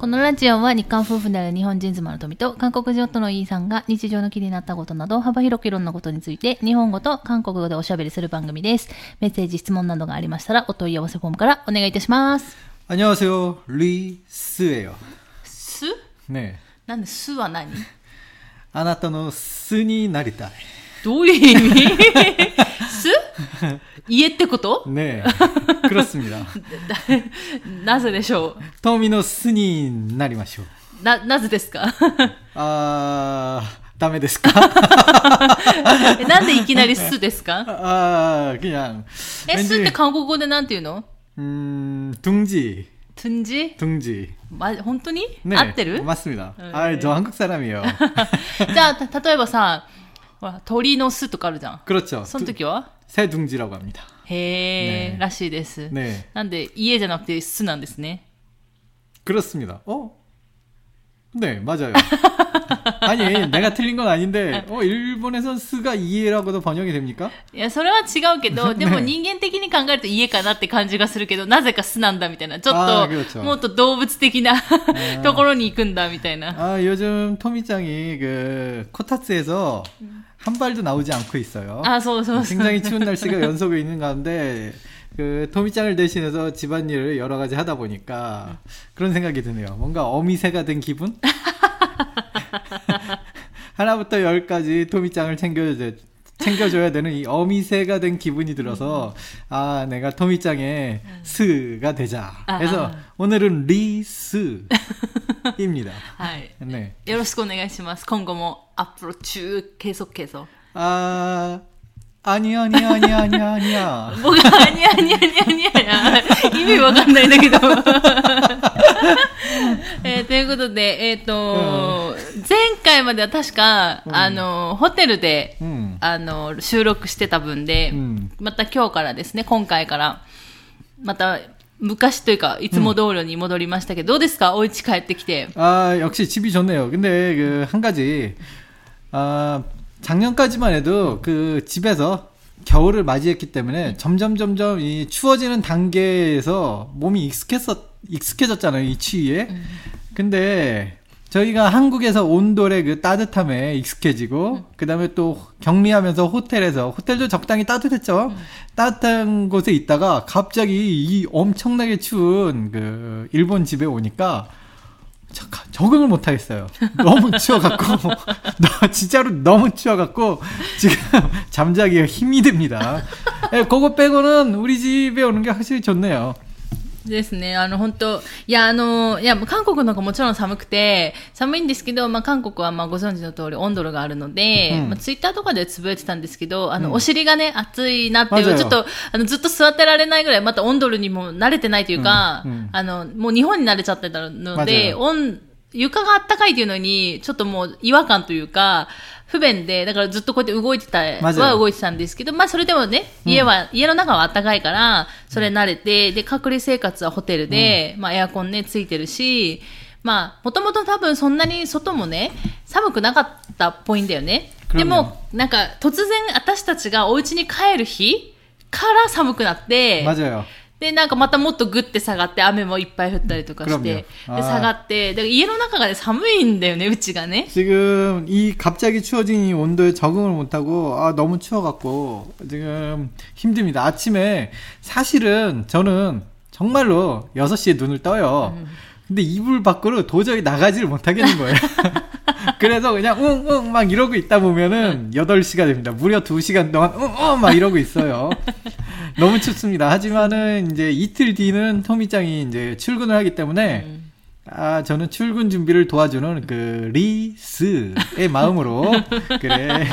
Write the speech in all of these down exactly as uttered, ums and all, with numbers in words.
このラジオは日韓夫婦である日本人妻の富と韓国人夫のイーさんが日常の気になったことなど幅広くいろんなことについて日本語と韓国語でおしゃべりする番組です。メッセージ、質問などがありましたらお問い合わせフォームからお願いいたします。 안녕하세요. 리스예요. 스? 네. なんでスは何？ あなたのスになりたい。 どういう意味？ス？家ってこと？ 네. 그렇습니다. なぜでしょう？ トミのスになりましょう。 な、なぜですか？ あー、ダメですか？ なんでいきなりスですか？ あー、그냥。 え、スって韓国語でなんて言うの？ うーん、둥지。 둥지? 둥지。 ま、本当に？ 네, 合ってる？ 맞습니다. 네. 아, 저 한국 사람이에요. じゃあ、例えばさ、ほら、鳥の巣とかあるじゃん。 그렇죠. その時は？ 새둥지라고 합니다. へー、 네. らしいです。 네. なんで、家じゃなくて巣なんですね。 그렇습니다. 어? 네, 맞아요. 아니, 내가 틀린 건 아닌데, 어, 일본에선 스가 이해라고도 번역이 됩니까? いや、それは違うけど、でも人間的に考えると家かなって感じがするけど、なぜか巣なんだみたいな。ちょっと、もっと動物的なところに行くんだみたいな。 아, 요즘 토미짱이 그, 코타츠에서 한 발도 나오지 않고 있어요. 아, そうそうそう。 굉장히 추운 날씨가 연속에 있는 가운데, 그, 토미짱을 대신해서 집안일을 여러 가지 하다 보니까, 그런 생각이 드네요. 뭔가 어미새가 된 기분? 하나부터 열까지 토미짱을 챙겨줘야, 챙겨줘야 되는 이 어미새가 된 기분이 들어서, 아, 내가 토미짱의 스가 되자. 그래서 오늘은 리스입니다. はい。 네. よろしくお願いします。今後もアップロ中継続継続。 아, 아니야, 아니야, 아니야, 아니야, 아니야. 뭐가 아니야, 아니야, 아니야, 아니야. 意味わかんないんだけど。えー、ということで、えっ、ー、と、うん、前回までは確か、うん、あの、ホテルで、うん、あの、収録してた分で、うん、また今日からですね、今回から、また、昔というか、いつも通りに戻りましたけど、うん、どうですか？お家帰ってきて。 아, 역시 집이 좋네요. 근데 그, 한 가지, 아, 작년까지만 해도 그 집에서 겨울을 맞이했기 때문에 점점 점점 이 추워지는 단계에서 몸이 익숙했었, 익숙해졌잖아요, 이 추위에. 근데 저희가 한국에서 온돌의 그 따뜻함에 익숙해지고, 그 다음에 또 격리하면서 호텔에서, 호텔도 적당히 따뜻했죠? 따뜻한 곳에 있다가 갑자기 이 엄청나게 추운 그 일본 집에 오니까 적응을 못하겠어요. 너무 추워갖고, 너, 진짜로 너무 추워갖고, 지금 잠자기가 힘이 듭니다. 네, 그거 빼고는 우리 집에 오는 게 확실히 좋네요. ですね。あの、本当いや、あの、いや、韓国の方がもちろん寒くて、寒いんですけど、まあ、韓国はまあ、ご存知の通り温度があるので、うん、まあ、ツイッターとかでつぶやいてたんですけど、あの、うん、お尻がね、暑いなっていう、ちょっと、あの、ずっと座ってられないぐらい、また温度にも慣れてないというか、うんうん、あの、もう日本に慣れちゃってたので、温、床があったかいっていうのに、ちょっともう違和感というか、不便で、だからずっとこうやって動いてた、は動いてたんですけど、まあそれでもね、家は、うん、家の中は暖かいから、それ慣れて、で、隔離生活はホテルで、うん、まあエアコンね、ついてるし、まあ、もともと多分そんなに外もね、寒くなかったっぽいんだよね。でも、なんか突然私たちがお家に帰る日から寒くなって、 맞아요。 で、なんかまたもっとグッて下がって、雨もいっぱい降ったりとかして、で、下がって、だから家の中がね、寒いんだよね、うちがね。 지금 이 갑자기 추워진 이 온도에 적응을 못하고, 아, 너무 추워갖고, 지금 힘듭니다. 아침에 사실은 저는 정말로 여섯 시에 눈을 떠요. 음. 근데 이불 밖으로 도저히 나가지를 못하겠는 거예요. 그래서 그냥 응, 응, 막 이러고 있다 보면은 여덟 시가 됩니다. 무려 두 시간 동안 응, 응, 막 이러고 있어요. 너무 춥습니다. 하지만은 이제 이틀 뒤는 토미짱이 이제 출근을 하기 때문에 음. 아, 저는 출근 준비를 도와주는 그 리스의 마음으로 그래.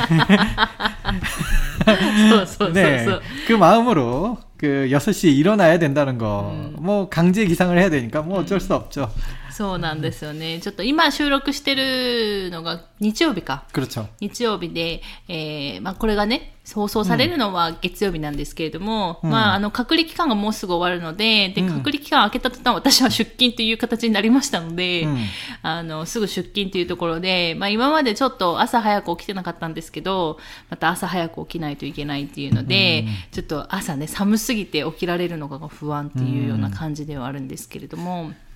네, 그 마음으로 그 여섯 시에 일어나야 된다는 거. 음. 뭐 강제 기상을 해야 되니까 뭐 어쩔 수 없죠. そうなんですよね。ちょっと今収録してるのが日曜日か。 그렇죠。 日曜日で、えー、まあこれがね、放送されるのは月曜日なんですけれども、うん、まああの隔離期間がもうすぐ終わるので、で、隔離期間明けた途端私は出勤という形になりましたので、うん、あの、すぐ出勤というところで、まあ今までちょっと朝早く起きてなかったんですけど、また朝早く起きないといけないっていうので、うん、ちょっと朝ね、寒すぎて起きられるのが不安っていうような感じではあるんですけれども、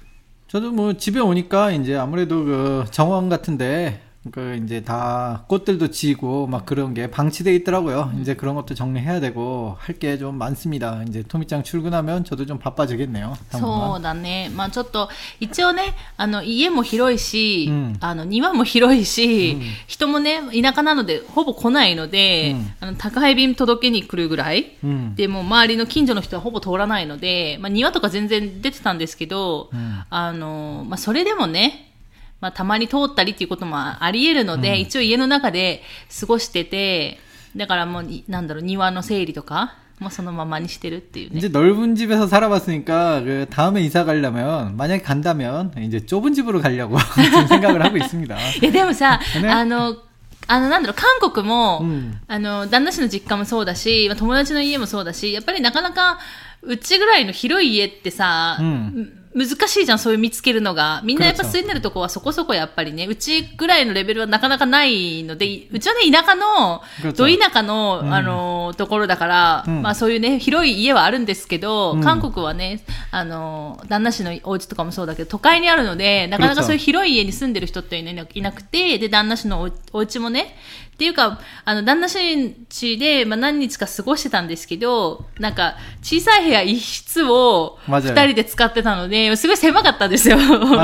저도 뭐 집에 오니까 이제 아무래도 그 정원 같은데 그 이제 다 꽃들도 지고 막 그런 게 방치돼 있더라고요. 이제 그런 것도 정리해야 되고 할 게 좀 많습니다. 이제 토미짱 출근하면 저도 좀 바빠지겠네요. そうだね。まあちょっと一応ね、あの家も広いし、うん、あの庭も広いし、うん、人もね田舎なのでほぼ来ないので、うん、あの宅配便届けに来るぐらい、うん、でも周りの近所の人はほぼ通らないので、まあ庭とか全然出てたんですけど、うん、あのまあそれでもね。まあ、たまに通ったりっていうこともあり得るので、うん、一応家の中で過ごしてて、だからもう、なんだろう、庭の整理とか、もうそのままにしてるっていうね。 이제 넓은 집에서 살아봤으니까, 그, 다음에 이사 가려면, 만약에 간다면, 이제 좁은 집으로 가려고 생각을 하고 있습니다. いや、でもさ、ね、あの、あの、なんだろう、韓国も、うん、あの、旦那氏の実家もそうだし、友達の家もそうだし、やっぱりなかなか、うちぐらいの広い家ってさ、うん、難しいじゃん、そういう見つけるのが。みんなやっぱ住んでるとこはそこそこやっぱりね、うちぐらいのレベルはなかなかないので、うちはね、田舎の、ど田舎の、うん、あの、ところだから、うん、まあそういうね、広い家はあるんですけど、うん、韓国はね、あの、旦那氏のお家とかもそうだけど、都会にあるので、なかなかそういう広い家に住んでる人っていなくて、で、旦那氏の お, お家もね、っていうか、あの、旦那氏家で、まあ、何日か過ごしてたんですけど、なんか、小さい部屋一室を二人で使ってたので、すごい狭かったんですよ。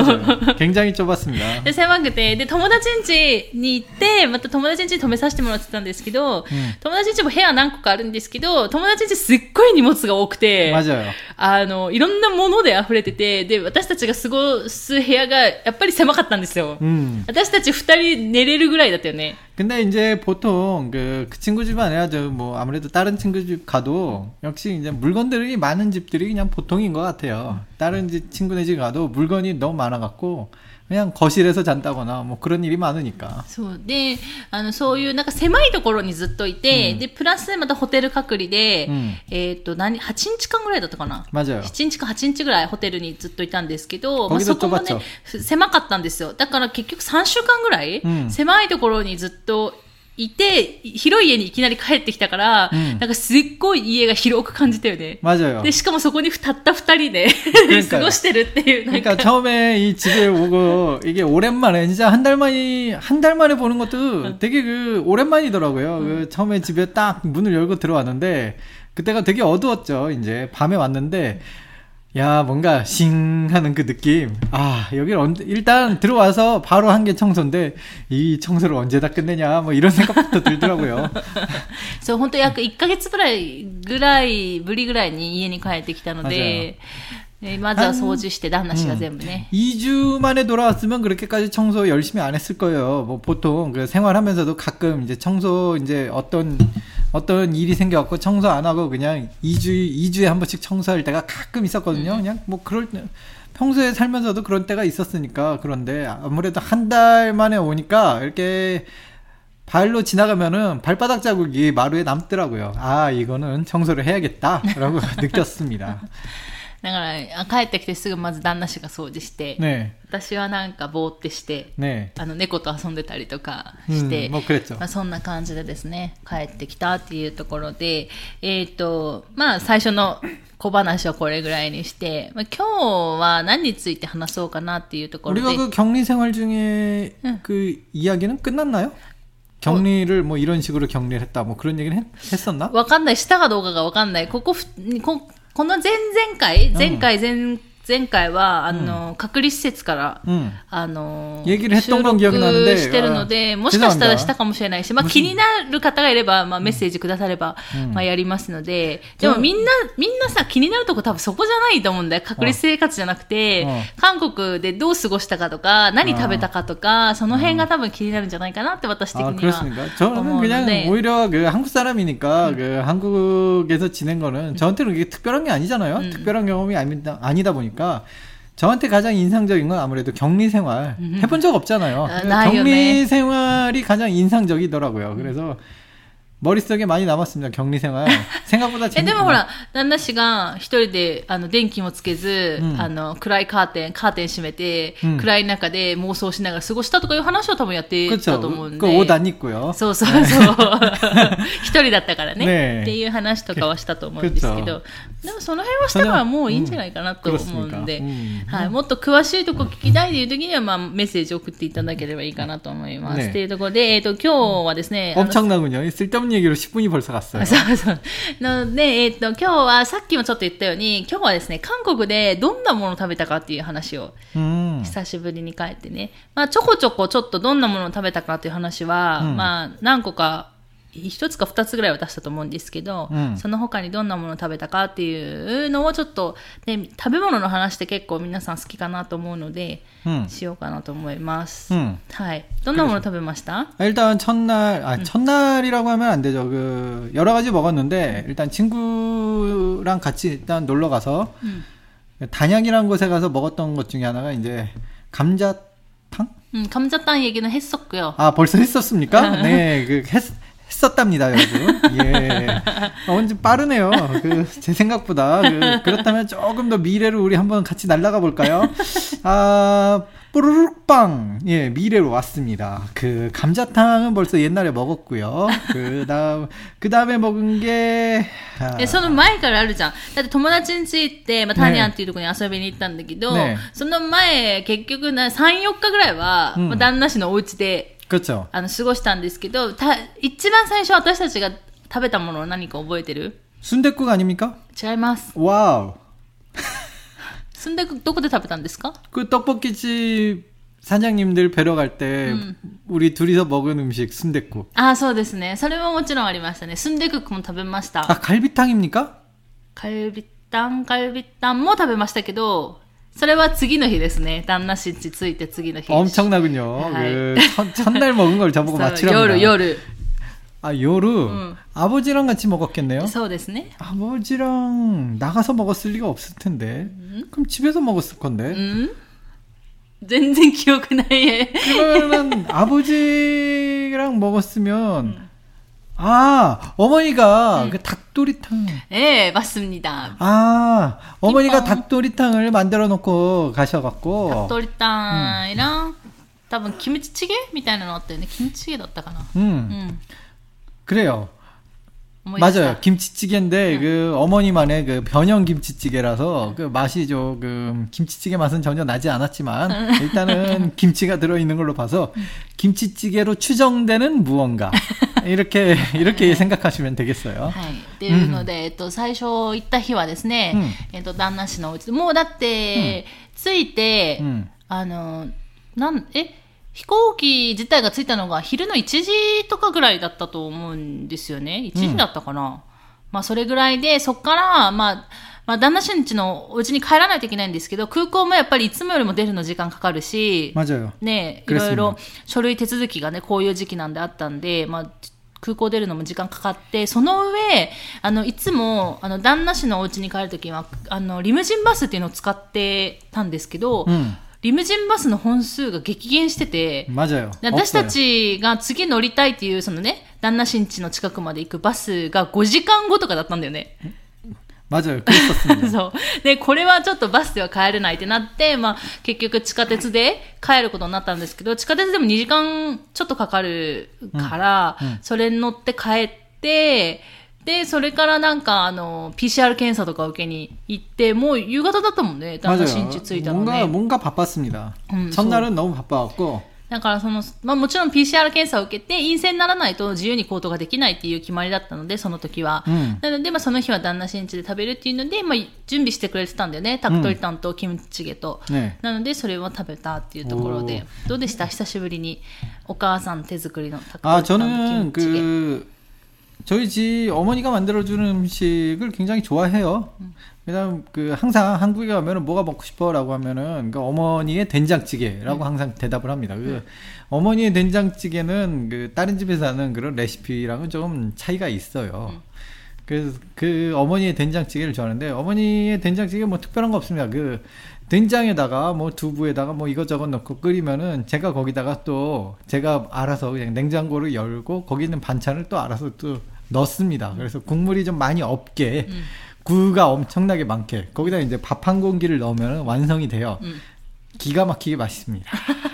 굉장히좁았습니다。 で、狭くて、で、友達ん家に行って、また友達ん家に泊めさせてもらってたんですけど、うん、友達ん家も部屋何個かあるんですけど、友達ん家すっごい荷物が多くて、あの、いろんなもので溢れてて、で、私たちが過ごす部屋がやっぱり狭かったんですよ。うん、私たち二人寝れるぐらいだったよね。 근데 이제 보통 그, 그 친구 집 아니라 저 뭐 아무래도 다른 친구 집 가도 역시 이제 물건들이 많은 집들이 그냥 보통인 것 같아요. 다른 집 친구네 집 가도 물건이 너무 많아갖고 그냥 거실에서 잔다거나 뭐 그런 일이 많으니까. そうで、あのそういうなんか狭いところにずっといて、うん、でプラスまたホテル隔離で、うん、えっと何はちにちかんぐらいだったかな。 맞아요。 しちにちかはちにちぐらいホテルにずっといたんですけど、まあそこもね狭かったんですよ。だから結局さんしゅうかんぐらい、うん、狭いところにずっといて、広い家にいきなり帰ってきたから、うん、なんかすっごい家が広く感じたよね。 맞아요。 で、しかもそこにたった二人で過ごしてるっていう。 なんか、처음에 이 집에 오고, 이게 오랜만에, 진짜 한 달 만에, 한 달 만에 보는 것도 되게 그, 오랜만이더라고요. 음. 그 처음에 집에 딱 문을 열고 들어왔는데, 그때가 되게 어두웠죠. 이제 밤에 왔는데, 야, 뭔가 싱 하는 그 느낌. 아, 여기 언제, 일단 들어와서 바로 한 게 청소인데 이 청소를 언제 다 끝내냐 뭐 이런 생각부터 들더라고요. そう、本当約いっかげつぐらいぐらいぶりぐらいに家に帰ってきたので、まずは掃除して旦那氏が全部ね。 음, 이 주 만에 돌아왔으면 그렇게까지 청소 열심히 안 했을 거예요. 뭐 보통 그 생활하면서도 가끔 이제 청소 이제 어떤 어떤 일이 생겨갖고 청소 안 하고 그냥 이 주, 이 주에 한 번씩 청소할 때가 가끔 있었거든요. 그냥 뭐 그럴 때, 평소에 살면서도 그런 때가 있었으니까. 그런데 아무래도 한 달 만에 오니까 이렇게 발로 지나가면은 발바닥 자국이 마루에 남더라고요. 아, 이거는 청소를 해야겠다라고 느꼈습니다. だから帰ってきてすぐまず旦那氏が掃除して、ね、私はなんかぼーってして、ね、あの猫と遊んでたりとかして、うんまあ、そんな感じでですね帰ってきたっていうところで、えっとまあ最初の小話はこれぐらいにして、まあ、今日は何について話そうかなっていうところで。 우리가 그 격리 생활 중에 응. 그 이야기는 끝났나요? 격리를 뭐 이런 식으로 격리를 했다 뭐 그런 얘기는 했, 했었나? わかんない。したかどうかがわかんない。ここここの前々回、前回前、前回は、あの、うん、隔離施設から、うん、あの、収録してるので、もしかしたらしたかもしれないし、まあ気になる方がいれば、まあメッセージくだされば、うん、まあやりますので、でもみんな、みんなさ、気になるとこ多分そこじゃないと思うんだよ。隔離生活じゃなくて、韓国でどう過ごしたかとか、何食べたかとか、その辺が多分気になるんじゃないかなって私的には思うので。 저는 그냥 오히려 그 한국 사람이니까 음. 그 한국에서 지낸 거는 저한테는 그게 특별한 게 아니잖아요. 음. 특별한 경험이 아니다, 아니다 보니까. 저한테 가장 인상적인 건 아무래도 격리 생활 해본 적 없잖아요. 아, 격리 생활이 가장 인상적이더라고요. 그래서 머릿속에 많이 남았습니다. 격리생활. 생각보다 え、 재밌구나. でもほら、旦那氏が一人で、あの、電気もつけず、 うんあの、暗いカーテン、カーテン閉めて、 うん暗い中で妄想しながら過ごしたとかいう話を多分やってた 그렇죠. と思うんで。 그 옷 안 입고요. そうそうそう。一人だったからね。 ねえっていう話とかはしたと思うんですけど。でもその辺はしたからもういいんじゃないかなと思うんで、 うんうんはい、もっと詳しいとこ聞きたいという時には、まあ、メッセージを送っていただければいいかなと思います。 ねというところで、えっと、今日はですね、あの 엄청나군요. 쓸데없는 얘기로 십 분이 벌써 갔어요. そうそう。なので、えっと、今日はさっきもちょっと言ったように、今日はですね、韓国でどんなものを食べたかっていう話を、 음. 久しぶりに帰ってね。まあ、ちょこちょこちょっとどんなものを食べたかっていう話は、 うんまあ、何個か、一つか二つぐらいは出したと思うんですけど、 うんその他にどんなものを食べたかっていうのをちょっと、ね、食べ物の話って結構皆さん好きかなと思うので、 음. しようかなと思います。 음. はい。どんなもの食べました？ 일단 첫날, 아, 첫날이라고 하면 안 되죠. 그, 여러 가지 먹었는데, 일단 친구랑 같이 일단 놀러 가서, 음. 단양이라는 곳에 가서 먹었던 것 중에 하나가 이제, 감자탕? 음, 감자탕 얘기는 했었고요. 아, 벌써 했었습니까? 네, 그, 했, 했었답니다, 여러분. 예. 어, 좀 빠르네요. 그, 제 생각보다. 그, 그렇다면 조금 더 미래로 우리 한번 같이 날아가 볼까요? 아, 뽀르륵빵. 예, 미래로 왔습니다. 그, 감자탕은 벌써 옛날에 먹었고요. 그 다음, 그 다음에 먹은 게, 아, え、その前からあるじゃん。だって友達ん家行って、まあ、タニャンっていうところに遊びに行ったんだけど、 ねその前、結局な、さん、よっかぐらいは、 うんまあ、旦那氏のお家で、 그렇죠. あの、過ごしたんですけど、た、一番最初私たちが食べたものは何か覚えてる？ 순댓국 아닙니까? 違います。 와우. すんでどこで食べたんですか？ 그 떡볶이집 사장님들 뵈러 갈 때, 음. 우리 둘이서 먹은 음식, 순댓국. ああ、そうですね。それももちろんありましたね。スンデクックも食べました。 아, 갈비탕입니까? カルビタン、カルビタンも食べましたけど、それは次の日ですね。旦那氏ん家着いて次の日。 엄청나군요. 하이. 그 첫, 첫날 먹은 걸 저보고 そう 맞추랍니다. 夜、夜。 아, 요루. 음. 아버지랑 같이 먹었겠네요. そうですね。 아버지랑 나가서 먹었을 리가 없을 텐데. 그럼 집에서 먹었을 건데. うん全然記憶ない。 그러면 아버지랑 먹었으면 아, 어머니가 음. 그 닭도리탕. 예, 맞습니다. 아, 어머니가 삐빵. 닭도리탕을 만들어 놓고 가셔갖고. 鳥タンイラン、多分キムチチゲみたいなのあったよね。キムチチゲだったかな。 음, うん。 그래요. 思い出した。 맞아요. 김치찌개인데 응. 그 어머니만의 그 변형 김치찌개라서 그 맛이 조금 김치찌개 맛은 전혀 나지 않았지만 일단은 김치가 들어 있는 걸로 봐서 김치찌개로 추정되는 무언가 이렇게 이렇게 생각하시면 되겠어요. はい。っていうので、えっと、最初行った日はですね、 うんえっと、旦那氏のお家で、もうだって、着いて、 음. あの、なん、え、飛行機自体が着いたのが昼のいちじとかぐらいだったと思うんですよね。いちじだったかな。まあ、それぐらいで、そっから、まあ、まあ、旦那氏ん家のお家に帰らないといけないんですけど、空港もやっぱりいつもよりも出るの時間かかるし、 맞아요. ね、い 그랬습니다. ろいろ書類手続きがね、こういう時期なんであったんで、まあ、空港出るのも時間かかって、その上、あの、いつも、あの、旦那氏のお家に帰るときは、あの、リムジンバスっていうのを使ってたんですけど、 음. リムジンバスの本数が激減してて、 맞아요. 私た 없어요. ちが次乗りたいっていう、そのね、旦那氏ん家の近くまで行くバスがごじかんごとかだったんだよね。 맞아요. 그랬었습니다. そう。で、これはちょっとバスでは帰れないってなって、まあ、結局地下鉄で帰ることになったんですけど、地下鉄でもにじかんちょっとかかるから、 うんうんそれに乗って帰って、で、それからなんか、あの、ピーシーアール 検査とか受けに行って、もう夕方だったもんね、旦那 맞아요. 新地着いたの 뭔가 ね。 뭔가 바빴습니다. 음, 첫날은 너무 바빠갖고 だからその、まあもちろん ピーシーアール 検査を受けて陰性にならないと自由に行動ができないっていう決まりだったので、その時は。 うんなので、まあその日は旦那新地で食べるっていうので、まあ準備してくれてたんだよね。タクトリタンとキムチチゲと。 네. なので、それを食べたっていうところで。どうでした？久しぶりにお母さん手作りのタクト 아 リタンとキム 저는 チチゲ。 그 저희 집 어머니가 만들어주는 음식을 굉장히 좋아해요. 그다음 그 항상 한국에 가면은 뭐가 먹고 싶어라고 하면은 그 어머니의 된장찌개라고 음. 항상 대답을 합니다. 그 어머니의 된장찌개는 그 다른 집에서 하는 그런 레시피랑은 좀 차이가 있어요. 음. 그래서 그 어머니의 된장찌개를 좋아하는데 어머니의 된장찌개 뭐 특별한 거 없습니다. 그 된장에다가 뭐 두부에다가 뭐 이것저것 넣고 끓이면은 제가 거기다가 또 제가 알아서 그냥 냉장고를 열고 거기 있는 반찬을 또 알아서 또 넣습니다. 그래서 국물이 좀 많이 없게 음. 구가 엄청나게 많게 거기다 이제 밥 한 공기를 넣으면 완성이 돼요. 음. 기가 막히게 맛있습니다.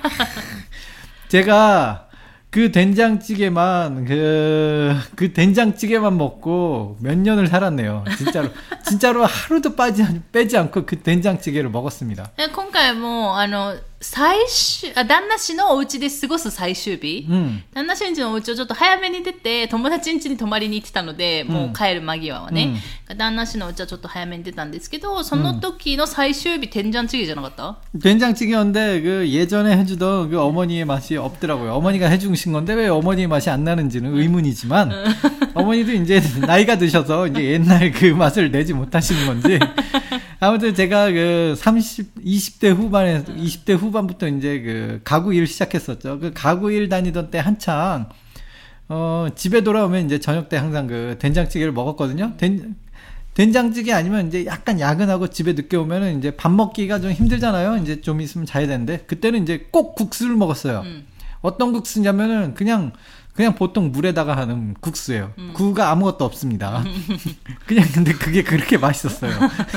제가 그 된장찌개만 그, 그 된장찌개만 먹고 몇 년을 살았네요. 진짜로 진짜로 하루도 빠지 빼지 않고 그 된장찌개를 먹었습니다. 今回もあの最終あ旦那氏のお家で過ごす最終日、うん、旦那氏んちのお家をちょっと早めに出て友達ん家に泊まりに行ってたので、うん、もう帰る間際はね、うん、旦那氏のお家はちょっと早めに出たんですけどその時の最終日된장찌개じゃなかった? 된장찌개였는데 그 예전에 해주던 그 어머니의 맛이 없더라고요. 어머니가 해주신 건데 왜 어머니의 맛이 안 나는지는 의문이지만 어머니도 이제 나이가 드셔서 이제 옛날 그 맛을 내지 못하시는 건지 아무튼 제가 그 삼십, 이십 대 후반에, 이십 대 후반부터 이제 그 가구 일 시작했었죠. 그 가구 일 다니던 때 한창, 어, 집에 돌아오면 이제 저녁 때 항상 그 된장찌개를 먹었거든요. 된, 된장찌개 아니면 이제 약간 야근하고 집에 늦게 오면은 이제 밥 먹기가 좀 힘들잖아요. 이제 좀 있으면 자야 되는데. 그때는 이제 꼭 국수를 먹었어요. 음. 어떤 국수냐면은 그냥, 그냥 보통 물에다가 하는 국수예요. 음. 구가 아무것도 없습니다. 그냥 근데 그게 그렇게 맛있었어요.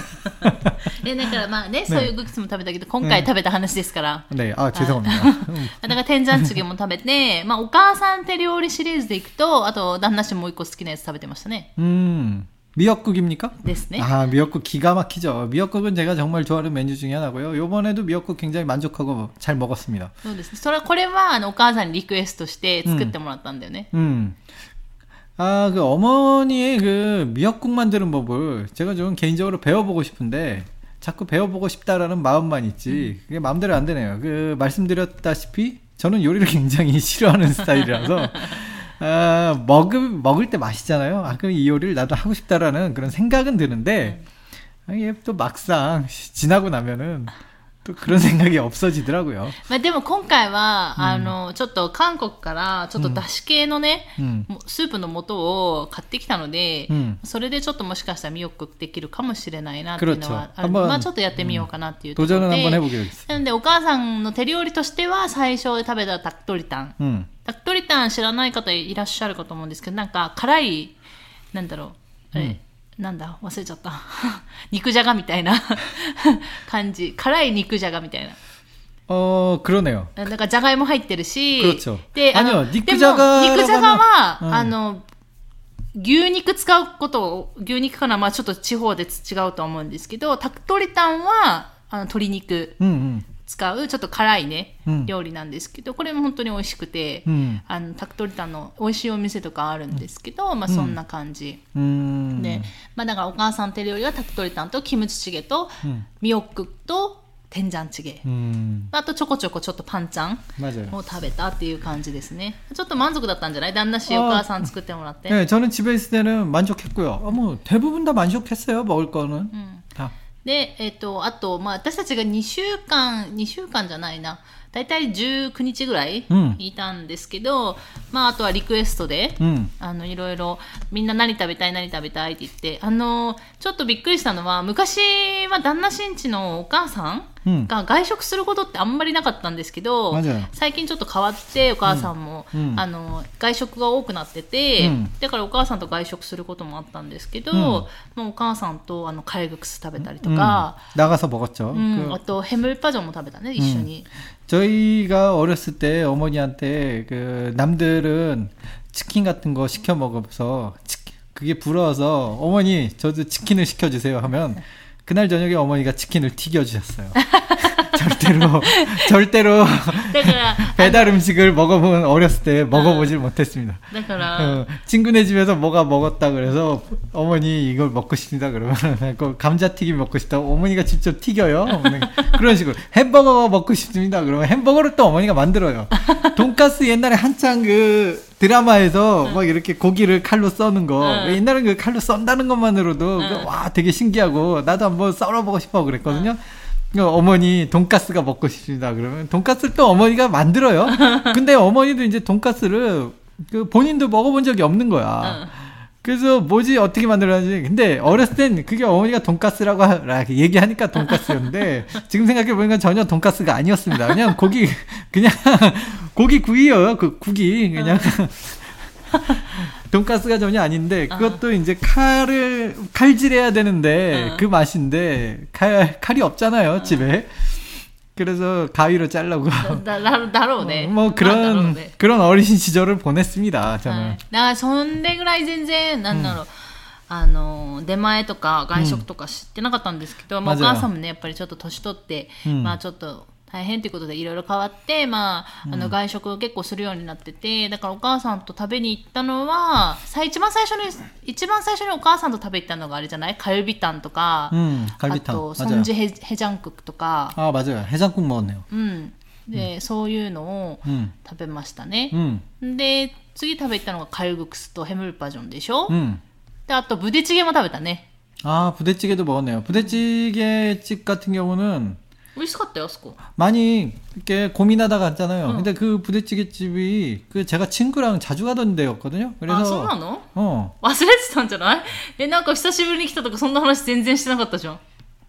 네, だからまあね、そういう국수も食べたけど、今回食べた話ですから。 네, 아 죄송합니다. だから된장찌개も食べて、まあお母さん手料理シリーズでいくと、あと旦那氏もう一個好きなやつ食べてましたね。 음. 미역국입니까? ですね. 아, 미역국 기가 막히죠. 미역국은 제가 정말 좋아하는 메뉴 중에 하나고요. 요번에도 미역국 굉장히 만족하고 잘 먹었습니다. そうですね。それこれはあのお母さんにリクエストして作ってもらったんだよね. 음. 아, 그 어머니의 그 미역국 만드는 법을 제가 좀 개인적으로 배워보고 싶은데 자꾸 배워보고 싶다라는 마음만 있지 그게 마음대로 안 되네요. 그 말씀드렸다시피 저는 요리를 굉장히 싫어하는 스타일이라서 아, 먹을, 먹을 때 맛있잖아요. 아, 그럼 이 요리를 나도 하고 싶다라는 그런 생각은 드는데, 아, 이게 또 막상 지나고 나면은 또 그런 생각이 없어지더라고요. まあでも今回は、あの、ちょっと韓国からちょっとだし系のね、スープの素を買ってきたので、それでちょっともしかしたらミヨックできるかもしれないなっていうのはある。まあちょっとやってみようかなっていうところで。なのでお母さんの手料理としては最初食べたタクトリタン。タクトリタン知らない方いらっしゃるかと思うんですけど、なんか辛い、なんだろう、え、なんだ忘れちゃった肉じゃがみたいな感じ辛い肉じゃがみたいな 어 그러네요. なんかじゃがいも入ってるし 그렇죠. で、あの肉じゃが肉じゃがは、うん、あの牛肉使うことを牛肉かなまあちょっと地方で違うと思うんですけどタクトリタンはあの鶏肉、うんうん使うちょっと辛いね、うん、料理なんですけどこれも本当に美味しくて、うん、あのタクトリタンの美味しいお店とかあるんですけど、うん、まあそんな感じ、うん、で、まあだからお母さん手料理はタクトリタンとキムチチゲと、うん、ミヨックと된장찌개、うん、あとちょこちょこちょっとパンチャンを食べたっていう感じですね。ちょっと満足だったんじゃない旦那氏お母さん作ってもらって。 네, 저는 집에 있을 때는 만족했고요. 아, 뭐 대부분 다 만족했어요. 먹을 거는 음. 다. で、えっと、あと、まあ、私たちがにしゅうかん、にしゅうかんじゃないな。だいたいじゅうくにちぐらいいたんですけど、うん、まあ、あとはリクエストで、うん、あの、いろいろ、みんな何食べたい、何食べたいって言って、あの、ちょっとびっくりしたのは、昔は旦那新地のお母さんが外食することってあんまりなかったんですけど、うん、最近ちょっと変わって、お母さんも、うん、あの、外食が多くなってて、うん、だからお母さんと外食することもあったんですけど、うん、もうお母さんと、あの、カレーグクス食べたりとか、 うん、나가서 먹었죠. うん、あと、해물파전も食べたね、一緒に。 저희가 어렸을 때 어머니한테 그 남들은 치킨 같은 거 시켜 먹어서 그게 부러워서 어머니 저도 치킨을 시켜주세요 하면 그날 저녁에 어머니가 치킨을 튀겨주셨어요. 절대로 절대로 배달 음식을 먹어본 어렸을 때 먹어보질 못했습니다. 어, 친구네 집에서 뭐가 먹었다 그래서 어머니 이걸 먹고 싶다 그러면 감자튀김 먹고 싶다 어머니가 직접 튀겨요. 그런 식으로 햄버거 먹고 싶습니다 그러면 햄버거를 또 어머니가 만들어요. 돈가스 옛날에 한창 그 드라마에서 막 이렇게 고기를 칼로 써는 거 옛날엔 그 칼로 썬다는 것만으로도 그 와 되게 신기하고 나도 한번 썰어보고 싶어 그랬거든요. 어머니 돈가스가 먹고 싶습니다 그러면 돈가스를 또 어머니가 만들어요. 근데 어머니도 이제 돈가스를 그 본인도 먹어본 적이 없는 거야. 그래서 뭐지 어떻게 만들어야지. 근데 어렸을 땐 그게 어머니가 돈가스라고 하, 얘기하니까 돈가스였는데 지금 생각해 보니까 전혀 돈가스가 아니었습니다. 그냥 고기 그냥 고기 구이요. 그 국이 그냥 돈가스가 전혀 아닌데 그것도 아. 이제 칼을 칼질해야 되는데 아. 그 맛인데 칼 칼이 없잖아요 아. 집에. 그래서 가위로 잘라고. 나, 나, 나로 네. 어, 뭐 그런 네. 그런 어린 시절을 보냈습니다. 저는. 나それぐらい全然なんだろう。あの出前とか外食とか知ってなかったんですけど、まあお母さんもねやっぱりちょっと年取って、まあちょっと大変ということでいろいろ変わって、まあ、あの外食を結構するようになってて、だからお母さんと食べに行ったのは、一番最初に、一番最初にお母さんと食べに行ったのがあれじゃない？カルビタンとか、うん、カルビタン。あと、ソンジヘジャンクとか。 あ、맞아요。ヘジャンク먹었네요。 うん。で、うん、そういうのを食べましたね。うん、で、次食べたのがカルグクスとヘムルパジョンでしょ？うん。で、あと、ブデチゲも食べたね。 あ、ブデチゲ도먹었네요。ブデチゲ집 같은 경우는 맛있었대요, 스코. 많이 이렇게 고민하다 갔잖아요. 응. 근데 그 부대찌개집이 그 제가 친구랑 자주 가던 데였거든요. 그래서 아, そうなの? 어. 忘れてたんじゃない? え、なんか久しぶりに来たとかそんな話全然してなかったじゃん.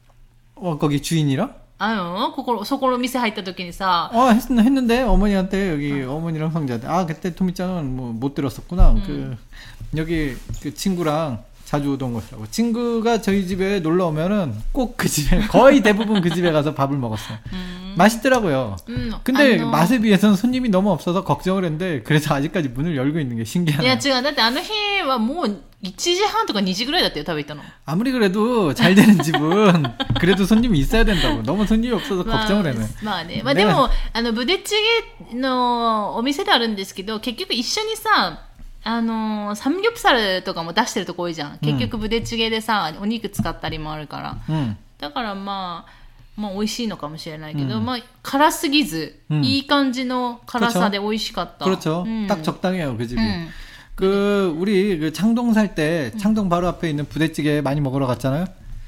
어, 거기 주인이랑? 아유, 그거, 서고로店入った時にさ. 어, 했, 했는데 어머니한테 여기 응. 어머니랑 형제한테 아, 그때 토미짱은 뭐 못 들었었구나. 응. 그 여기 그 친구랑 자주 오던 곳이라고. 친구가 저희 집에 놀러 오면은 꼭 그 집에 거의 대부분 그 집에 가서 밥을 먹었어요. 음. 맛있더라고요. 음, 근데 아노... 맛에 비해서는 손님이 너무 없어서 걱정을 했는데 그래서 아직까지 문을 열고 있는 게 신기하네요. 야, 제가だってあの日はもういちじはんとかにじぐらいだったよ、食べたの. 아무리 그래도 잘 되는 집은 그래도 손님이 있어야 된다고. 너무 손님이 없어서 걱정을 해네. まあね。まあでもあのブデチゲのお店であるんですけど、結局一緒にさ。あのー、サムギョプサルとかも出してるとこ多いじゃん。結局ブデチゲでさ、お肉使ったりもあるから。うん、だからまあ、まあ美味しいのかもしれないけど、うん、まあ辛すぎず、うん、いい感じの辛さで美味しかった。 그렇죠. 음. 딱 적당해요, 그 집이. 음. 그, 우리 그 창동 살 때, 창동 바로 앞에 있는 부대찌개 많이 먹으러 갔잖아요?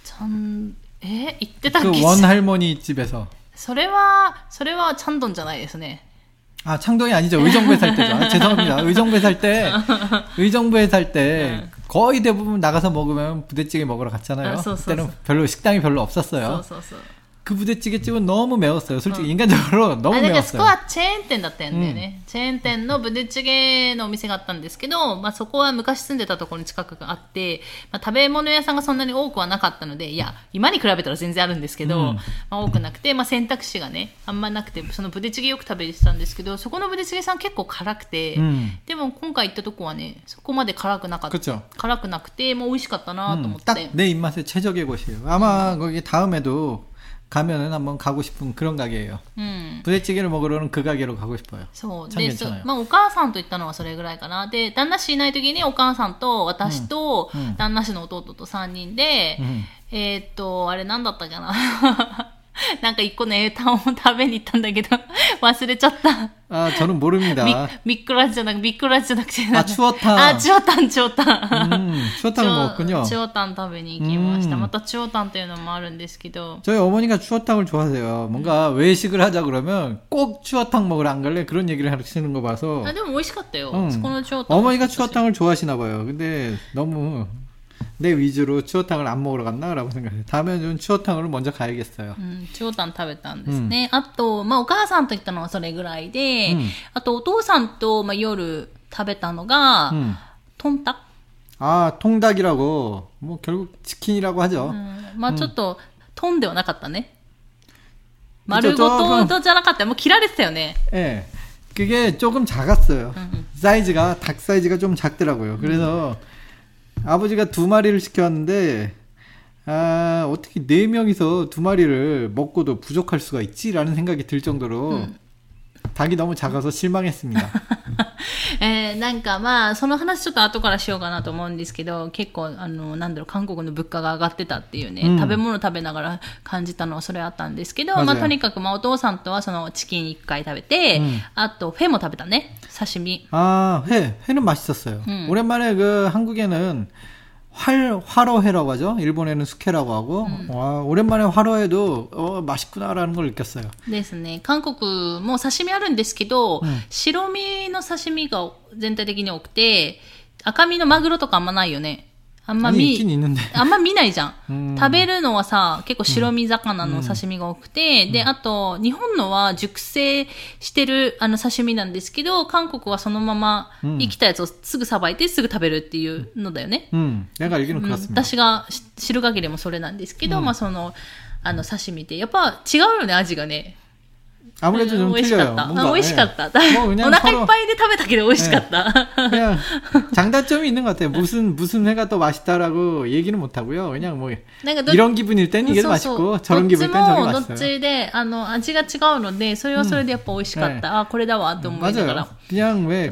찬, 에? 이때다 그 원 할머니 집에서. それは、それはチャンドンじゃないですね。 아, 창동이 아니죠. 의정부에 살 때죠. 아, 죄송합니다. 의정부에 살 때, 의정부에 살 때, 거의 대부분 나가서 먹으면 부대찌개 먹으러 갔잖아요. 그때는 별로, 식당이 별로 없었어요. 그 부대찌개집은 너무 매웠어요. 솔직히 인간적으로 너무 매웠어요. そこはチェーン店だったんだよね。チェーン店のブデチゲのお店があったんですけど、まあそこは昔住んでたところに近くがあって、まあ食べ物屋さんがそんなに多くはなかったので、いや、今に比べたら全然あるんですけど、まあ多くなくて、まあ選択肢がね、あんまなくて、そのブデチゲよく食べてたんですけど、そこのブデチゲさん結構辛くて、でも今回行ったとこはね、そこまで辛くなかった。辛くなくて、もう美味しかったなと思って。 딱 내 입맛에 최적의 곳이에요. 아마 거기 다음에도 가면은 한번 가고 싶은 그런 가게예요. 음. 부대찌개를 먹으러는 그 가게로 가고 싶어요. そうで、まあお母さんと行ったのはそれぐらいかな。で、旦那氏いない時にお母さんと私と、うん、旦那氏の弟とさんにんで、うん、えー、っとあれなんだったかな。なんか一個の英単を食べに行ったんだけど忘れちゃった。 아, 저는 모릅니다. 미꾸라지じゃなく、미꾸라지じゃなくて、 あ、チュオタン。 あ、チュオタン、チュオタン。 うん、チュオタンも먹었군요。 チュオタン食べに行きました。またチュオタンというのもあるんですけど。 저희 어머니가 추어탕을 좋아하세요. 뭔가 외식을 하자 그러면 꼭 추어탕 먹으러 안 갈래? 그런 얘기를 하시는 거 봐서. 아, でも美味しかったよ。 응. 어머니가 추어탕을 좋아하시나 봐요. 근데 너무 내 위주로 추어탕을 안 먹으러 갔나? 라고 생각해요. 다음에는 추어탕으로 먼저 가야겠어요. 음, 추어탕 食べたんですね。あと、まあ、お母さんと行ったのはそれぐらいで、うん、あとお父さんと、まあ、夜食べたのが、うん、トンタク。 아, 통닭이라고. 뭐 결국 치킨이라고 하죠. 음, まあちょっと、トンではなかったね。丸ごとじゃなかった。もう切られてたよね。 예. 그게 조금 작았어요. 음. 사이즈가, 닭 사이즈가 좀 작더라고요. 그래서 음. 아버지가 두 마리를 시켜왔는데, 아, 어떻게 네 명이서 두 마리를 먹고도 부족할 수가 있지라는 생각이 들 정도로 음. 닭이 너무 작아서 실망했습니다. えー、なんかまあその話ちょっと後からしようかなと思うんですけど、結構あのなんだろう、韓国の物価が上がってたっていうね、うん、食べ物食べながら感じたのはそれあったんですけど、まあとにかくまあお父さんとはそのチキン一回食べて、うん、あとフェも食べたね、刺身。 아, 회, 회는 맛있었어요. 음. 오랜만에 그 한국에는 활, 화로회라고 하죠. 일본에는 숙회라고 하고. 음. 와, 오랜만에 화로회도 어, 맛있구나라는 걸 느꼈어요. ですね。韓国も刺身あるんですけど、白身の刺身が全体的に多くて、 赤身のマグロとかあんまないよね。あんま 아니, 見、 있긴 있는데. あんま見ないじゃん。 うん、 食べるのはさ、結構白身魚の刺身が多くて、うん、で、あと、日本のは熟成してるあの刺身なんですけど、韓国はそのまま生きたやつをすぐさばいてすぐ食べるっていうのだよね。 うん。だから、うん、 私が知る限りもそれなんですけど、うん、まあその、あの刺身ってやっぱ違うよね、味がね。 아무래도 좀 틀려요. 뭔가 맛있었다. 뭐 그냥 오나카 이빠이데 食べたけど 맛있었다. 그냥 장단점이 있는 것 같아요. 무슨 무슨 회가 더 맛있다라고 얘기는 못 하고요. 그냥 뭐 이런 기분일 땐 이게 더 맛있고 저런 기분일 땐 저게 맛있어요. どっちであの味が違うのでそれはそれでやっぱ美味しかった。あ、これだわと思いながら。 그냥 왜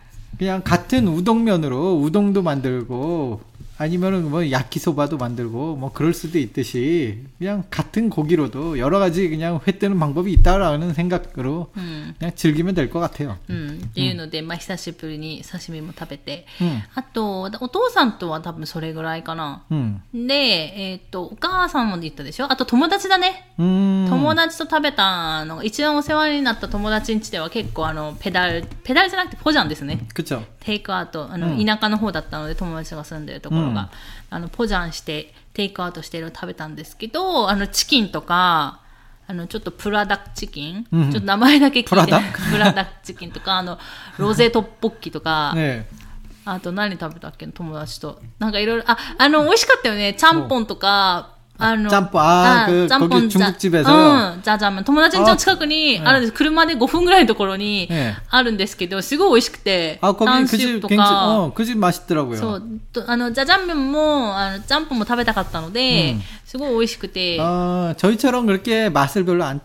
그냥 같은 우동면으로 우동도 만들고 아니면은 뭐 야키소바도 만들고 뭐 그럴 수도 있듯이 그냥 같은 고기로도 여러 가지 그냥 회 뜨는 방법이 있다라는 생각으로 음. 그냥 즐기면 될 것 같아요. 음, っていうので、まあ久しぶりに刺身も食べて、あとお父さんとは多分それぐらいかな。で、えっとお母さんも言ったでしょ。あと友達だね。友達と食べたのが一番お世話になった友達ん家では結構あのペダルペダルじゃなくてポジャンですね。 그쵸。 テイクアウトあの、うん、田舎の方だったので友達が住んでるところが、うん、あのポジャンしてテイクアウトしてるの食べたんですけど、あのチキンとかあのちょっとプラダックチキン、うん、ちょっと名前だけ聞いてプラダックプラダックチキンとかあのロゼトッポッキとか、ね、あと何食べたっけ友達となんかいろいろああの美味しかったよね。ちゃんぽんとかあの、 짬뽕、あ、그、거기 중국집에서。 うん、짜장면。友達ん家の近くに、あるんです。車でごふんぐらいのところに、あるんですけど、すごい美味しくて。 あ、거기 그 집、어、그 집 맛있더라고요。 そう。あの、짜장면も、あの、짬뽕も食べたかったので、すごい美味しくて。 어、 저희처럼 그렇게 맛을 별로 안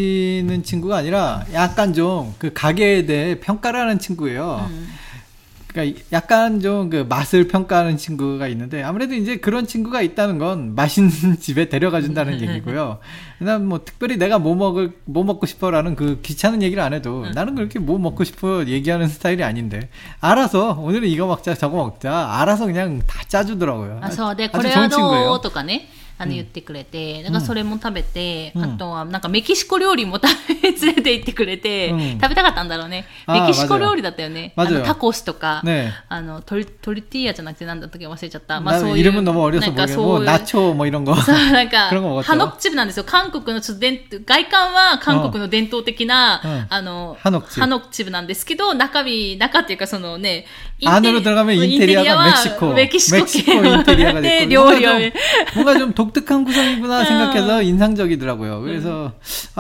따지는 친구가 아니라, 약간 좀 그 가게에 대해 평가를 하는 친구예요. 음. 그러니까 약간 좀 그 맛을 평가하는 친구가 있는데 아무래도 이제 그런 친구가 있다는 건 맛있는 집에 데려가 준다는 얘기고요. 난 뭐 특별히 내가 뭐 먹을 뭐 먹고 싶어라는 그 귀찮은 얘기를 안 해도 나는 그렇게 뭐 먹고 싶어 얘기하는 스타일이 아닌데 알아서 오늘은 이거 먹자 저거 먹자 알아서 그냥 다 짜주더라고요. 아,そうでこれはどうとかね。あの言ってくれて、なんかそれも食べて、うん、あとはなんかメキシコ料理も食べ連れて行ってくれて、うん、食べたかったんだろうね。メキシコ料理だったよね。あのタコスとか、ね、あのトリトリティーヤじゃなくてなんだったっけ忘れちゃった。まあそういう 이름은 너무 어려서 모르겠고ナチョも이런 거。 そうなんかハノッチブなんですよ。韓国のちょっと伝外観は韓国の伝統的な、うん、あのハノッチブなんですけど、中身中っていうかそのね、 안으로 들어가면 인테리어가 멕시코, 멕시코, 멕시코 인테리어가 네, 됐고 뭔가 좀, 뭔가 좀 독특한 구성이구나 생각해서 인상적이더라고요. 그래서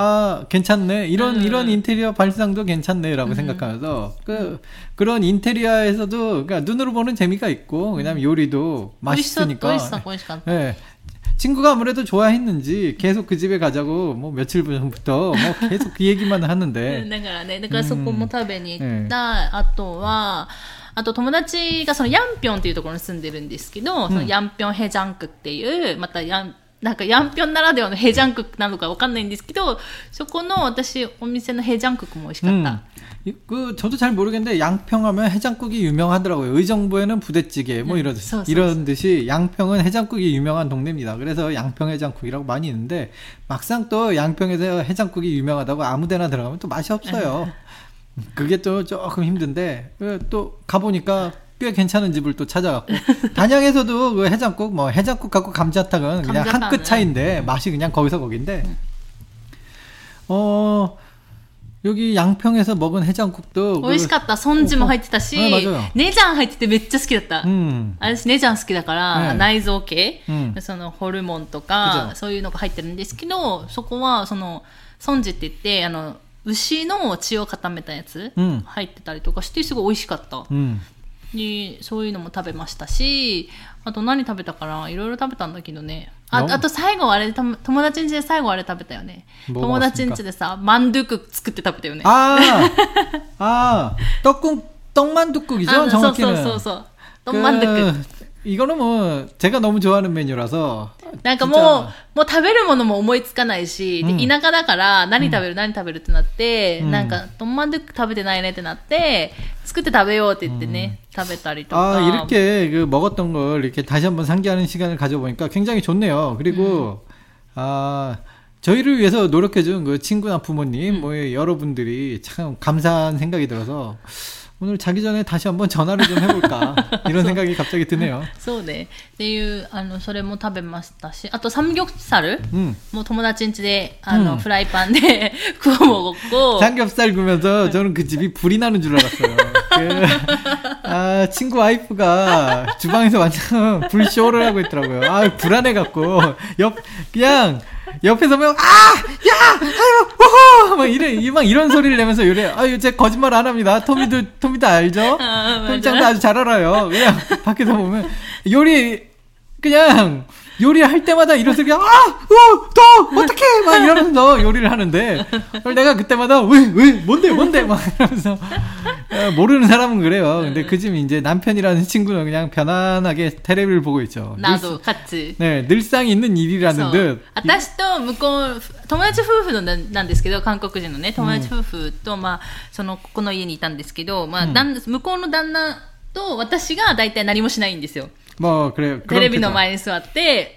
아 괜찮네 이런 이런 인테리어 발상도 괜찮네라고 생각하면서 그 그런 인테리어에서도 그러니까 눈으로 보는 재미가 있고 그다음에 요리도 맛있으니까. 네. 친구가 아무래도 좋아했는지 계속 그 집에 가자고 뭐 며칠 전부터 뭐 계속 그 얘기만 하는데. だからね、だからそこも食べに行った。あとは。あと友達がそのヤンピョンっていうところに住んでるんですけど、そのヤンピョンヘジャンクっていう、またヤン、なんかヤンピョンならではのヘジャンクなのかわかんないんですけど、そこの私お店のヘジャンクも美味しかった。 음, 그 저도 잘 모르겠는데 양평하면 해장국이 유명하더라고요. 의정부에는 부대찌개 뭐 이런 듯이, 이런 듯이 양평은 해장국이 유명한 동네입니다. 그래서 양평 해장국이라고 많이 있는데 막상 또 양평에서 해장국이 유명하다고 아무데나 들어가면 또 맛이 없어요. 그게 또 조금 힘든데 또 가보니까 꽤 괜찮은 집을 또 찾아갔고 단양에서도 그 해장국 뭐 해장국 갖고 감자탕은 그냥 한 끗 차이인데 맛이 그냥 거기서 거긴데 어 여기 양평에서 먹은 해장국도 美味しかった。ソンジも入ってたし、ネジャン入っててめっちゃ好きだった。私ネジャン好きだから、内臓系、そのホルモンとかそういうのが入ってるんですけど、そこはそのソンジって言ってあの牛の血を固めたやつ、うん、入ってたりとかしてすごい美味しかった、うん、でそういうのも食べましたし、あと何食べたかないろいろ食べたんだけどね。 あ, あと最後あれ友達ん家で最後あれ食べたよね。友達ん家でさマンドゥク作って食べたよね。 ああ、떡국 떡만둣국이죠 정확히는. そうそうそうそう。떡만둣국. 이거는 뭐 제가 너무 좋아하는 메뉴라서 なんかもうもう食べるものも思いつかないし、で田舎だから何食べる何食べるってなって、なんかトンマンドゥック食べてないねってなって作って食べようって言ってね、食べたりとか。 아, 이렇게 그 먹었던 걸 이렇게 다시 한번 상기하는 시간을 가져보니까 굉장히 좋네요. 그리고 음. 아 저희를 위해서 노력해준 그 친구나 부모님, 음. 뭐 여러분들이 참 감사한 생각이 들어서 오늘 자기 전에 다시 한번 전화를 좀 해볼까 이런 생각이 갑자기 드네요. そうね。っていう、あの、それも食べましたし、あとサムギョプサル、うん、もう友達ん家で、あの、うん、フライパンで구워 먹었고. 삼겹살 구면서 저는 그 집이 불이 나는 줄 알았어요. 그, 아, 친구 와이프가 주방에서 완전 불쇼를 하고 있더라고요. 아, 불안해갖고, 옆, 그냥, 옆에서 막, 아! 야! 아유! 오호! 막 이래, 막 이런 소리를 내면서 요래, 아유, 제 거짓말 안 합니다. 토미도, 토미도 알죠? 아, 토미짱도 아주 잘 알아요. 그냥 밖에서 보면, 요리, 그냥, 요리할 때마다 이런 소리가, 아! 어! 더! 어떡해! 막 이러면서 요리를 하는데, 내가 그때마다, 왜, 왜, 뭔데, 뭔데? 막 이러면서, 모르는 사람은 그래요. 근데 그 집 이제 남편이라는 친구는 그냥 편안하게 테레비를 보고 있죠. 나도 같이. 네, 늘상 있는 일이라는 듯. 私と向こう、友達夫婦のなんですけど、韓国人のね、友達夫婦と、まあ、その、ここの家にいたんですけど、まあ、旦那、向こうの旦那と私が大体何もしないんですよ。 もう、これ、 テレビの前に座って、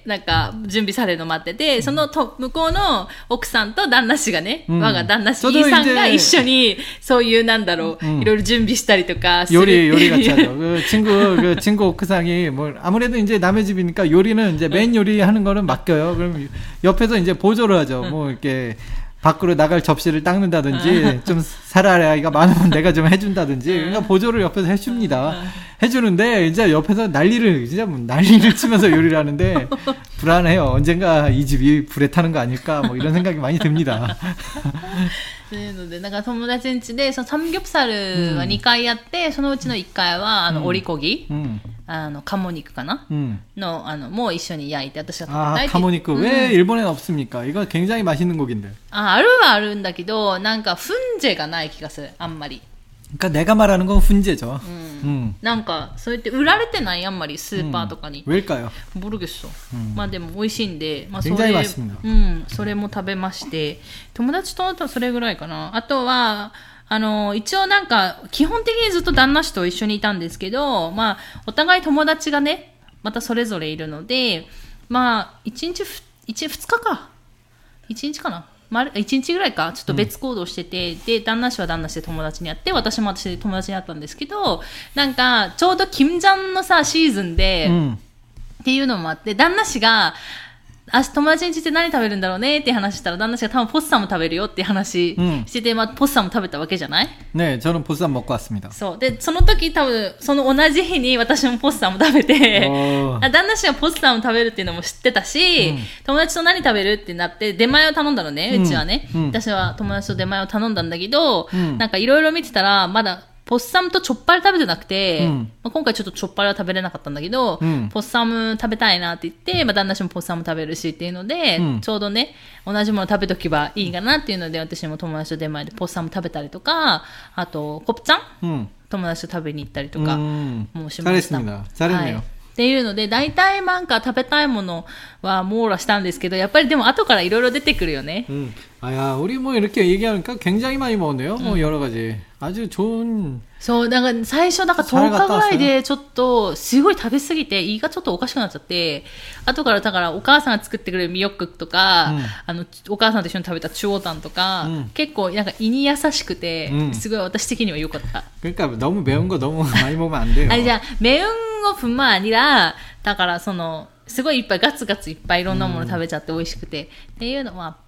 なんか、準備されるの待ってて、そのと、向こうの奥さんと旦那氏がね、うん、我が旦那氏、イーさんが一緒に、そういう、なんだろう、うん、いろいろ準備したりとかする。 요리, 요리 같이 하죠. 그 친구, 그 친구 옥상이, 뭐, 아무래도 이제 남의 집이니까 요리는 이제 맨 요리 하는 거는 맡겨요. 그럼 옆에서 이제 보조를 하죠. 뭐, 이렇게, 밖으로 나갈 접시를 닦는다든지 좀 살아라이가 많으면 내가 좀 해준다든지 그러니까 보조를 옆에서 해줍니다. 해주는데 이제 옆에서 난리를 진짜 난리를 치면서 요리를 하는데 불안해요. 언젠가 이 집이 불에 타는 거 아닐까 뭐 이런 생각이 많이 듭니다. というので、なんか友達ん家でそのサムギョプサルはにかいやって、うん、そのうちのいっかいはあの、うん、オリコギ、うん、あの鴨肉かな、うん、のあのもう一緒に焼いて私が食べたいって。 아, 鴨肉. 왜 일본에는 없습니까? 이거 굉장히 맛있는 고기인데. 아, あるはあるんだけど、なんかフンジェがない気がする。あんまり。 그러니까 내가 말하는 건 훈제죠. 음. 음. なんかそうやって売られてないあんまりスーパーとかに。 왜일까요? 모르겠어. 음. まあでも美味しいんで、まあそれ、 굉장히 맛있습니다. うん、それも食べまして、友達とあとそれぐらいかな。あとはあの一応なんか基本的にずっと旦那氏と一緒にいたんですけど、まあお互い友達がね、またそれぞれいるので、まあ一日ふ一二日か、一日かな。いちにちぐらいかちょっと別行動してて、うん、で旦那氏は旦那氏で友達に会って私も私で友達に会ったんですけど、なんかちょうどキムジャンのさシーズンで、うん、っていうのもあって旦那氏が明日友達に来て何食べるんだろうねって話したら旦那氏が多分ポッサム食べるよって話してて、うん、まあ、ポッサム食べたわけじゃない？ ね、저는ポッサム먹고 왔습니다。 そうでその時多分その同じ日に私もポッサム食べて旦那氏がポッサム食べるっていうのも知ってたし、うん、友達と何食べるってなって出前を頼んだのね、うちはね、うん、私は友達と出前を頼んだんだけど、うん、なんかいろいろ見てたらまだポッサムとチョッパル食べてなくて、うんまあ、今回ちょっとチョッパルは食べれなかったんだけど、うん、ポッサム食べたいなって言って、まあ、旦那氏もポッサム食べるしっていうので、うん、ちょうどね同じもの食べとけばいいかなっていうので私も友達と出前でポッサム食べたりとか、あとコプチャン、うん、友達と食べに行ったりとかもしました。 잘했습니다。잘했네요。 っていうので大体なんか食べたいものは網羅したんですけどやっぱりでも後からいろいろ出てくるよね。 음. 아야 우리 뭐 이렇게 얘기하니까 굉장히 많이 먹었네요. 음. 뭐 여러 가지 아주 좋은. そうなんか最初だからとおかぐらいでちょっとすごい食べ過ぎて胃がちょっとおかしくなっちゃって後からだからお母さんが作ってくれるミヨックとか、うん、あのお母さんと一緒に食べたチュオタンとか、うん、結構なんか胃に優しくて、うん、すごい私的には良かった。 그러니까 너무 매운 거 너무 많이 먹으면 안 돼요. 아니じゃあ매운 거뿐만 아니라だからそのすごいいっぱいガツガツいっぱいいろんなもの食べちゃって美味しくて、うん、っていうのもあって、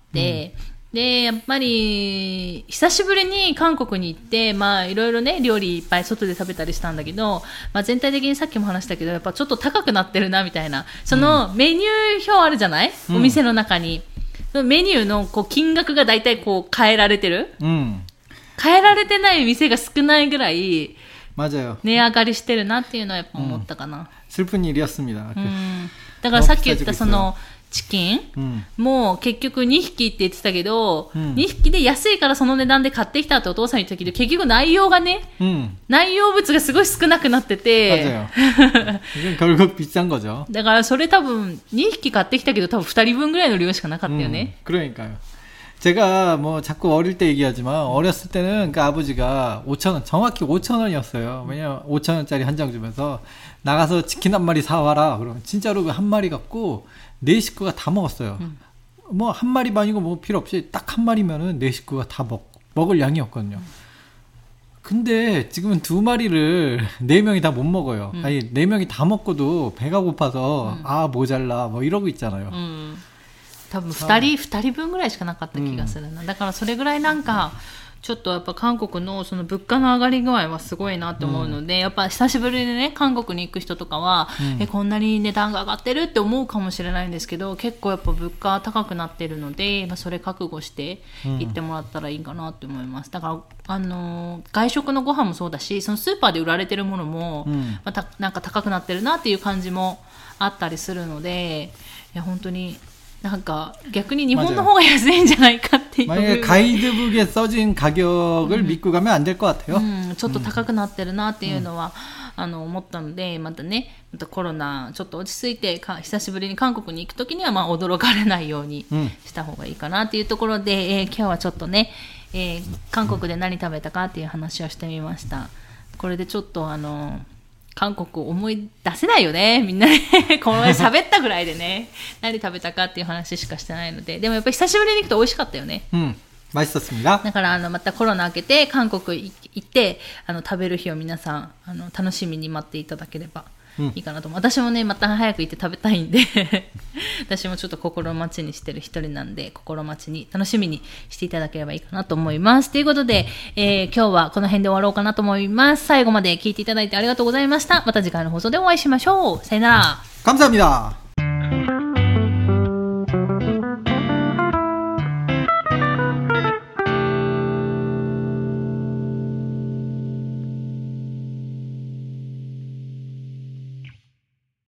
うん、でやっぱり久しぶりに韓国に行ってまあいろいろね料理いっぱい外で食べたりしたんだけど、まあ、全体的にさっきも話したけどやっぱちょっと高くなってるなみたいなそのメニュー表あるじゃない、うん、お店の中にメニューのこう金額がだいたいこう変えられてる、うん、変えられてない店が少ないぐらい 맞아요。 値上がりしてるなっていうのはやっぱ思ったかな。 음, 슬픈 일이었습니다。 うん、だからさっき言ったそのチキン、うん、もう結局にひきって言ってたけど、うん、にひきで安いからその値段で買ってきたってお父さん言ってたけど結局内容がね、うん、内容物がすごい少なくなってて 결국 비싼 거죠。 だからそれ多分にひき買ってきたけど多分ふたりぶんぐらいの量しかなかったよね。 음, 그러니까요。 제가 뭐 자꾸 어릴 때 얘기하지만 어렸을 때는 그 아버지가 오천 원 정확히 오천 원이었어요. 왜냐면 오천 원짜리 한 장 주면서 나가서 치킨 한 마리 사와라. 그러면 진짜로 그 한 마리 갖고 네 식구가 다 먹었어요. 음. 뭐 한 마리만이고 뭐 필요 없이 딱 한 마리면은 네 식구가 다 먹, 먹을 양이었거든요. 근데 지금은 두 마리를 네 명이 다 못 먹어요. 음. 아니 네 명이 다 먹고도 배가 고파서 음. 아 모자라 뭐 이러고 있잖아요. うん、多分ふたり、ふたりぶんぐらいしかなかった気がするな。だからそれぐらいなんか、ちょっとやっぱ韓国のその物価の上がり具合はすごいなって思うので、うん、やっぱ久しぶりにね、韓国に行く人とかは、うん、え、こんなに値段が上がってるって思うかもしれないんですけど、結構やっぱ物価高くなってるので、まあ、それ覚悟して行ってもらったらいいかなって思います。だから、あのー、外食のご飯もそうだし、そのスーパーで売られてるものも、うん、またなんか高くなってるなっていう感じもあったりするので、いや本当になんか逆に日本の方が安いんじゃないかっていう。 만약에 가이드북에 써진 가격을 음. 믿고 가면 안 될 것 같아요. うん、ちょっと高くなってるなっていうのは、うん、あの思ったので、またね、またコロナちょっと落ち着いてか久しぶりに韓国に行くときにはまあ驚かれないようにした方がいいかなっていうところで、うん、えー、今日はちょっとね、えー、韓国で何食べたかっていう話をしてみました。これでちょっとあの韓国思い出せないよね、みんなね。この前喋ったぐらいでね、何食べたかっていう話しかしてないので、でもやっぱり久しぶりに行くと美味しかったよね。 うん、맛있었습니다。 だからあのまたコロナ明けて韓国行ってあの食べる日を皆さんあの楽しみに待っていただければいいかなと思う。うん、私もねまた早く行って食べたいんで私もちょっと心待ちにしてる一人なんで、心待ちに楽しみにしていただければいいかなと思います。ということで、えー、今日はこの辺で終わろうかなと思います。最後まで聞いていただいてありがとうございました。また次回の放送でお会いしましょう。さよなら。 감사합니다。